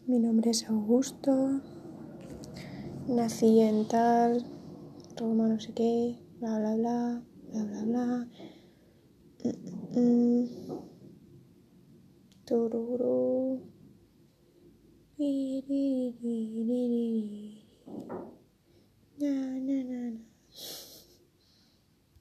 Mi nombre es Augusto, nací en tal, Roma no sé qué, bla bla bla, bla bla bla. Turu.